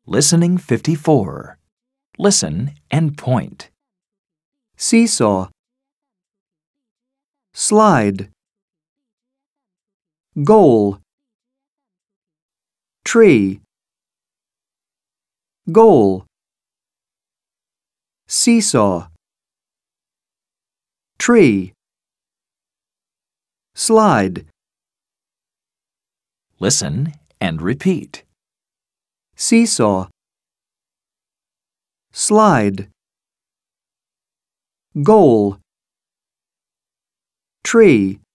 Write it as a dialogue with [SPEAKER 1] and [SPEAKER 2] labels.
[SPEAKER 1] Listening 54. Listen and point.
[SPEAKER 2] Seesaw. Slide. Goal. Tree. Goal. Seesaw. Tree. Slide.
[SPEAKER 1] Listen and repeat.
[SPEAKER 2] Seesaw. Slide. Goal. Tree.